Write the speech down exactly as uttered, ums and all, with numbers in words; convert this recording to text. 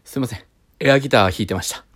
すいません。エアギター弾いてました。